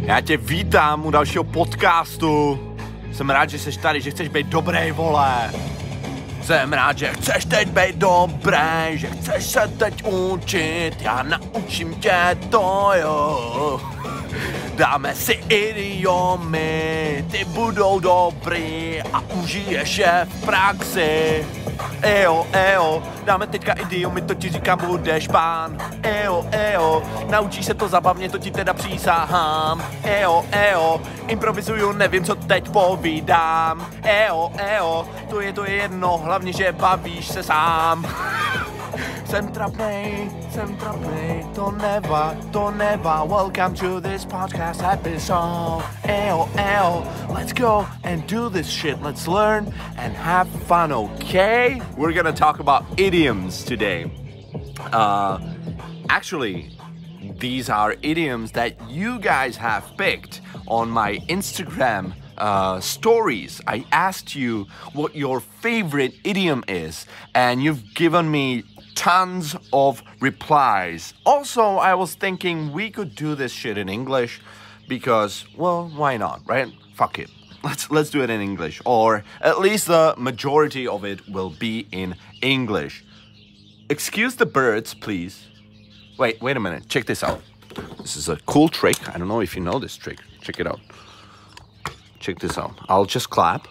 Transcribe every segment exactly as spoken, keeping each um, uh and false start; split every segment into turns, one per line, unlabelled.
Já tě vítám u dalšího podcastu. Jsem rád, že jsi tady, že chceš být dobrý, vole. Jsem rád, že chceš teď být dobrý, že chceš se teď učit. Já naučím tě to, jo. Dáme si idiomy, ty budou dobrý a užiješ je v praxi. Ejo, ejo, dáme teďka idiomy, to ti říkám, budeš pán. Ejo, ejo, naučíš se to zabavně, to ti teda přísahám. Ejo, ejo, improvizuju, nevím, co teď povídám. Ejo, ejo, to je to je jedno, hlavně, že bavíš se sám. Jsem trapnej, jsem trapnej, to neva, to neva. Welcome to this podcast episode. Eyo, eyo, let's go and do this shit. Let's learn and have fun, okay? We're gonna talk about idioms today. Uh, actually, these are idioms that you guys have picked on my Instagram uh, stories. I asked you what your favorite idiom is, and you've given me tons of replies. Also, I was thinking we could do this shit in English because, well, why not, right? Fuck it. Let's let's do it in English, or at least the majority of it will be in English. Excuse the birds, please. Wait, wait a minute. Check this out. This is a cool trick. I don't know if you know this trick. Check it out. Check this out. I'll just clap.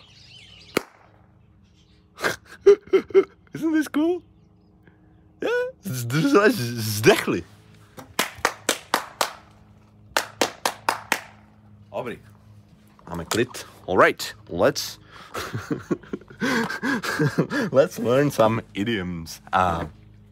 Isn't this cool? Zdechli. Dobrý. Máme klid. All right. Let's let's learn some idioms. Uh,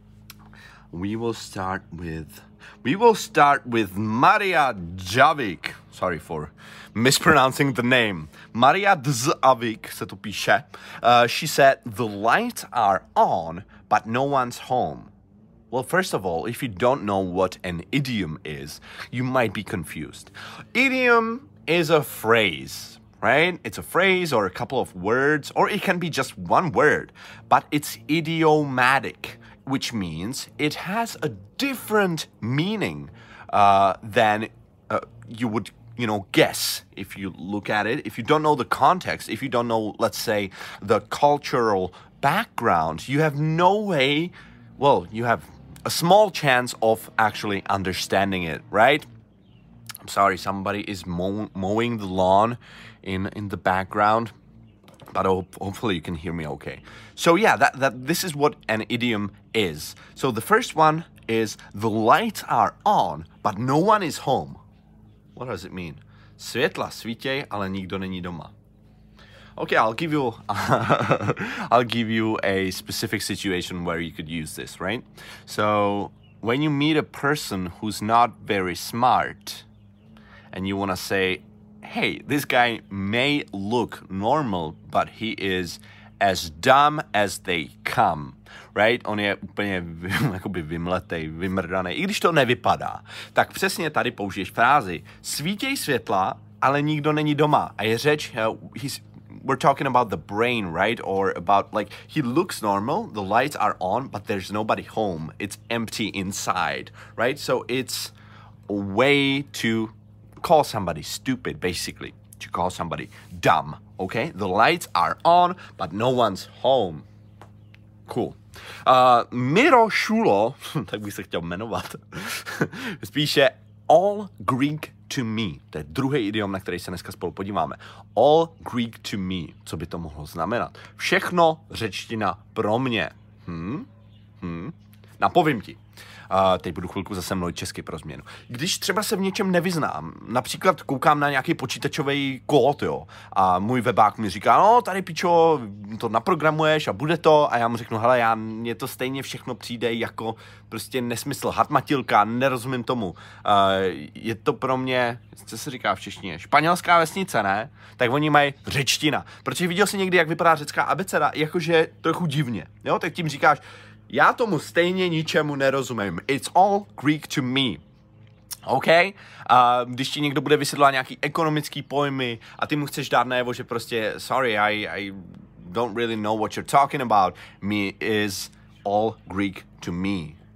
we will start with we will start with Maria Javik. Sorry for mispronouncing the name. Maria Dzavik se to píše. Uh, she said, "The lights are on, but no one's home." Well, first of all, if you don't know what an idiom is, you might be confused. Idiom is a phrase, right? It's a phrase or a couple of words, or it can be just one word, but it's idiomatic, which means it has a different meaning uh, than uh, you would, you know, guess if you look at it. If you don't know the context, if you don't know, let's say, the cultural background, you have no way, well, you have a small chance of actually understanding it, right? I'm sorry, somebody is mow- mowing the lawn in, in the background, but hope, hopefully you can hear me okay. So yeah, that, that this is what an idiom is. So the first one is, the lights are on, but no one is home. What does it mean? Světla svítěj, ale nikdo není doma. Okay, I'll give you I'll give you a specific situation where you could use this, right? So, when you meet a person who's not very smart and you want to say, "Hey, this guy may look normal, but he is as dumb as they come." Right? On je úplně jakoby vymletej, vymrdaný, i když to nevypadá. Tak přesně tady použiješ frázi svítěj světla, ale nikdo není doma. A je řeč, uh, he's we're talking about the brain, right? Or about, like, he looks normal, the lights are on, but there's nobody home. It's empty inside, right? So it's a way to call somebody stupid, basically. To call somebody dumb, okay? The lights are on, but no one's home. Cool. Uh, Miro Šulo, tak bych se chtěl jmenovat, spíše all Greek to me. To je druhý idiom, na který se dneska spolu podíváme. All Greek to me. Co by to mohlo znamenat? Všechno řečtina pro mě. Hm? Hm? Napovím ti. Uh, teď budu chvilku zase mluvit česky pro změnu. Když třeba se v něčem nevyznám, například koukám na nějaký počítačový kód, jo, a můj webák mi říká, no tady pičo, to naprogramuješ a bude to, a já mu řeknu, hele, já, mně to stejně všechno přijde jako prostě nesmysl, hatmatilka, nerozumím tomu. Uh, je to pro mě, co se říká v češtině, španělská vesnice, ne? Tak oni mají řečtina. Protože viděl jsi někdy, jak vypadá řecká abeceda, jakože trochu divně, jo, tak tím říkáš, já tomu stejně ničemu nerozumím. It's all Greek to me. OK? Uh, když ti někdo bude vysvětlovat nějaký ekonomický pojmy a ty mu chceš dát najevo, že prostě sorry, I, I don't really know what you're talking about, me is all Greek to me.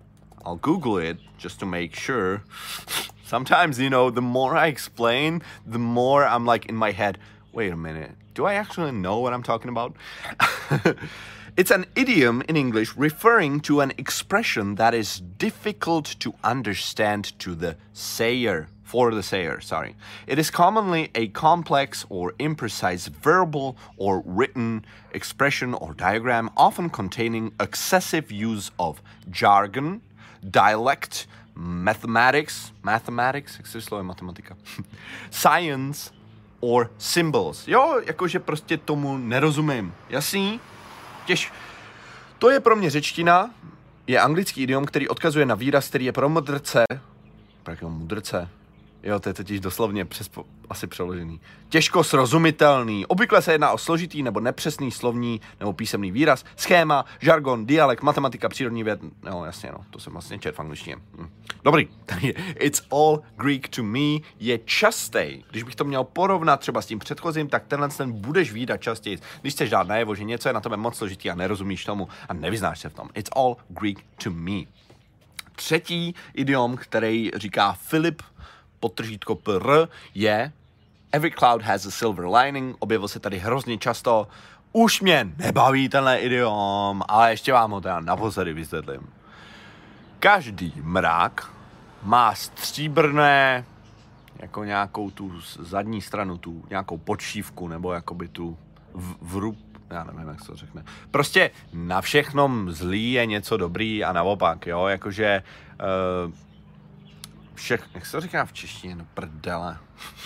I'll Google it just to make sure. Sometimes, you know, the more I explain, the more I'm like in my head, wait a minute, do I actually know what I'm talking about? It's an idiom in English referring to an expression that is difficult to understand to the sayer, for the sayer, sorry. It is commonly a complex or imprecise verbal or written expression or diagram, often containing excessive use of jargon, dialect, mathematics, mathematics, jak se slovo je matematika, science or symbols. Jo, jakože prostě tomu nerozumím. Jasný? Těž. To je pro mě řečtina, je anglický idiom, který odkazuje na výraz, který je pro mudrce, pro jakého mudrce, jo, to je totiž doslovně přes, asi přeložený, těžko srozumitelný. Obvykle se jedná o složitý nebo nepřesný slovní nebo písemný výraz, schéma, žargon, dialekt, matematika, přírodní věd, no jasně, no, to jsem vlastně čet v angličtině. Hm. Dobrý, tady it's all Greek to me je častej. Když bych to měl porovnat třeba s tím předchozím, tak tenhle ten budeš vídat častěji. Když chceš dát najevo, že něco je na tebe moc složitý a nerozumíš tomu a nevyznáš se v tom. It's all Greek to me. Třetí idiom, který říká Filip podtržítko pr, je Every cloud has a silver lining. Objevil se tady hrozně často. Už mě nebaví tenhle idiom, ale ještě vám ho teda naposledy vysvětlím. Každý mrak má stříbrné, jako nějakou tu zadní stranu, tu nějakou podšívku, nebo jakoby tu vrub, já nevím, jak se to řekne. Prostě na všechnom zlý je něco dobrý a naopak, jo, jakože uh, všech, jak se to říká v češtině, no prdele.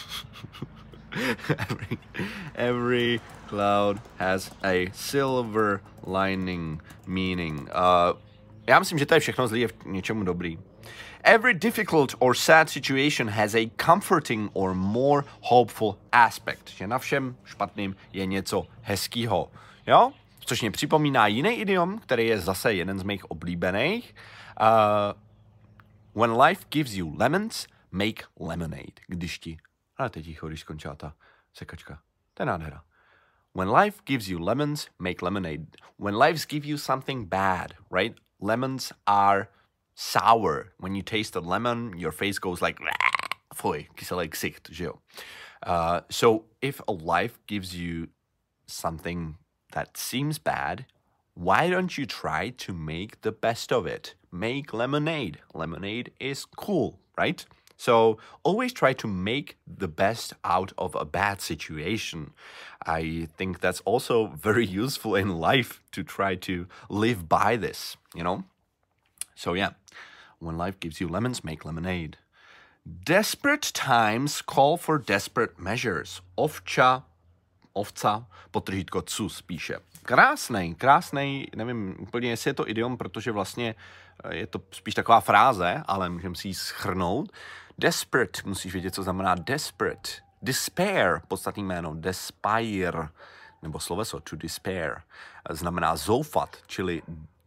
every, every cloud has a silver lining meaning. Uh, já myslím, že to je všechno zlý je v něčemu dobrý. Every difficult or sad situation has a comforting or more hopeful aspect. Že na všem špatným je něco hezkýho. Jo? Což mě připomíná jiný idiom, který je zase jeden z mých oblíbených. Uh, when life gives you lemons, make lemonade. Když ti... Ale teď ticho, když skončila ta sekačka. To je nádhera. When life gives you lemons, make lemonade. When life gives you something bad, right? Lemons are sour. When you taste a lemon, your face goes like, fuj, kyselý ksicht, že jo? Uh, so if a life gives you something that seems bad, why don't you try to make the best of it? Make lemonade. Lemonade is cool, right? So always try to make the best out of a bad situation. I think that's also very useful in life to try to live by this, you know? So yeah, when life gives you lemons, make lemonade. Desperate times call for desperate measures. Ovča, ovca, potržítko cus píše. Krásnej, krásnej, nevím úplně, jestli je to idiom, protože vlastně je to spíš taková fráze, ale můžeme si ji shrnout. Desperate, musíš vědět, co znamená desperate. Despair, podstatný jméno, despair, nebo sloveso to despair, znamená zoufat, čili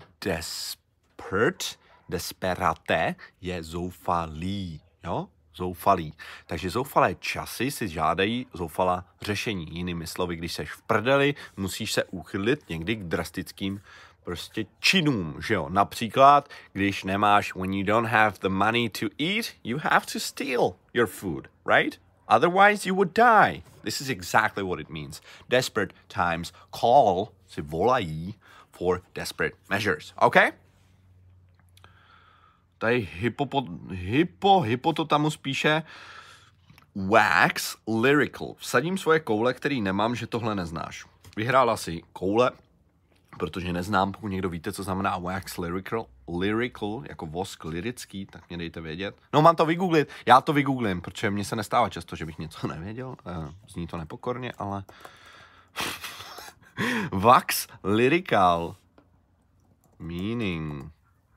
desperate, desperate je zoufalý, jo? Zoufalý. Takže zoufalé časy si žádají zoufalá řešení. Jinými slovy, když seš v prdeli, musíš se uchylit někdy k drastickým prostě činům, že jo? Například, když nemáš, when you don't have the money to eat, you have to steal your food, right? Otherwise you would die. This is exactly what it means. Desperate times call, si volají, for desperate measures, okay? Tady hypo, hypo, hypototamus píše wax lyrical. Vsadím svoje koule, který nemám, že tohle neznáš. Vyhrála si koule, protože neznám, pokud někdo víte, co znamená wax lyrical, lyrical, jako vosk lyrický, tak mě dejte vědět. No, mám to vygooglit, já to vygooglím, protože mně se nestává často, že bych něco nevěděl. Zní to nepokorně, ale... Wax lyrical meaning...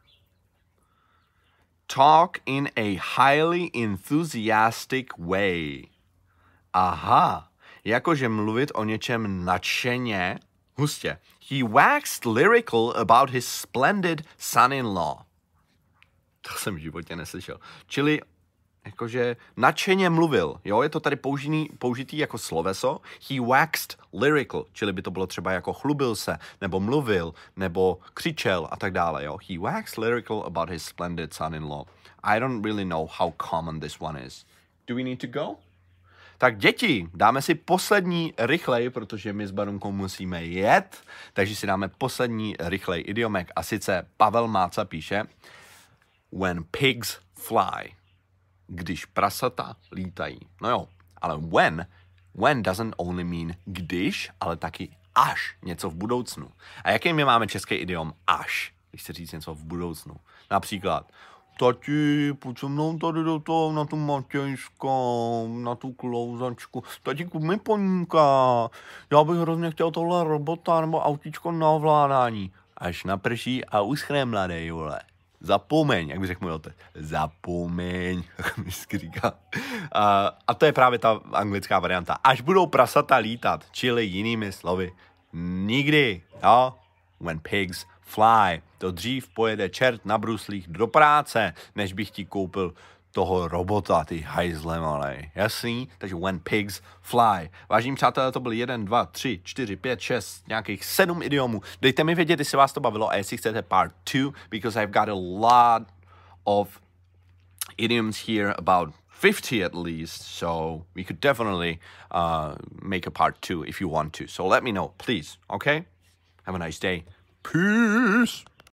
Talk in a highly enthusiastic way. Aha, jakože mluvit o něčem nadšeně, hustě. He waxed lyrical about his splendid son-in-law. To jsem v životě neslyšel. Čili jakože nadšeně mluvil, jo, je to tady použitý, použitý jako sloveso. He waxed lyrical, čili by to bylo třeba jako chlubil se, nebo mluvil, nebo křičel a tak dále, jo. He waxed lyrical about his splendid son-in-law. I don't really know how common this one is. Do we need to go? Tak děti, dáme si poslední rychlej, protože my s Barunkou musíme jet, takže si dáme poslední rychlej idiomek a sice Pavel Máca píše when pigs fly, když prasata lítají. No jo, ale when, when doesn't only mean když, ale taky až něco v budoucnu. A jaký my máme český idiom až, když se říct něco v budoucnu? Například tati, pojď se mnou tady do toho, na tu matějskou, na tu klouzačku. Tati, kup mi poníka. Já bych hrozně chtěl tohle robota nebo autíčko na ovládání. Až naprší a uschne, mladej, vole. Zapomeň, jak by řekl můj otec. Zapomeň, jak mi vždycky říká. A, a to je právě ta anglická varianta. Až budou prasata lítat, čili jinými slovy. Nikdy, jo? When pigs fly. To dřív pojede čert na bruslích do práce, než bych ti koupil toho robota, ty hajzle malej. Jasný? Takže when pigs fly. Vážení přátelé, to byl jeden, dva, tři, čtyři, pět, šest, nějakých sedm idiomů. Dejte mi vědět, jestli vás to bavilo a jestli chcete part two, because I've got a lot of idioms here, about fifty at least, so we could definitely uh, make a part two if you want to. So let me know, please, okay? Have a nice day. Peace!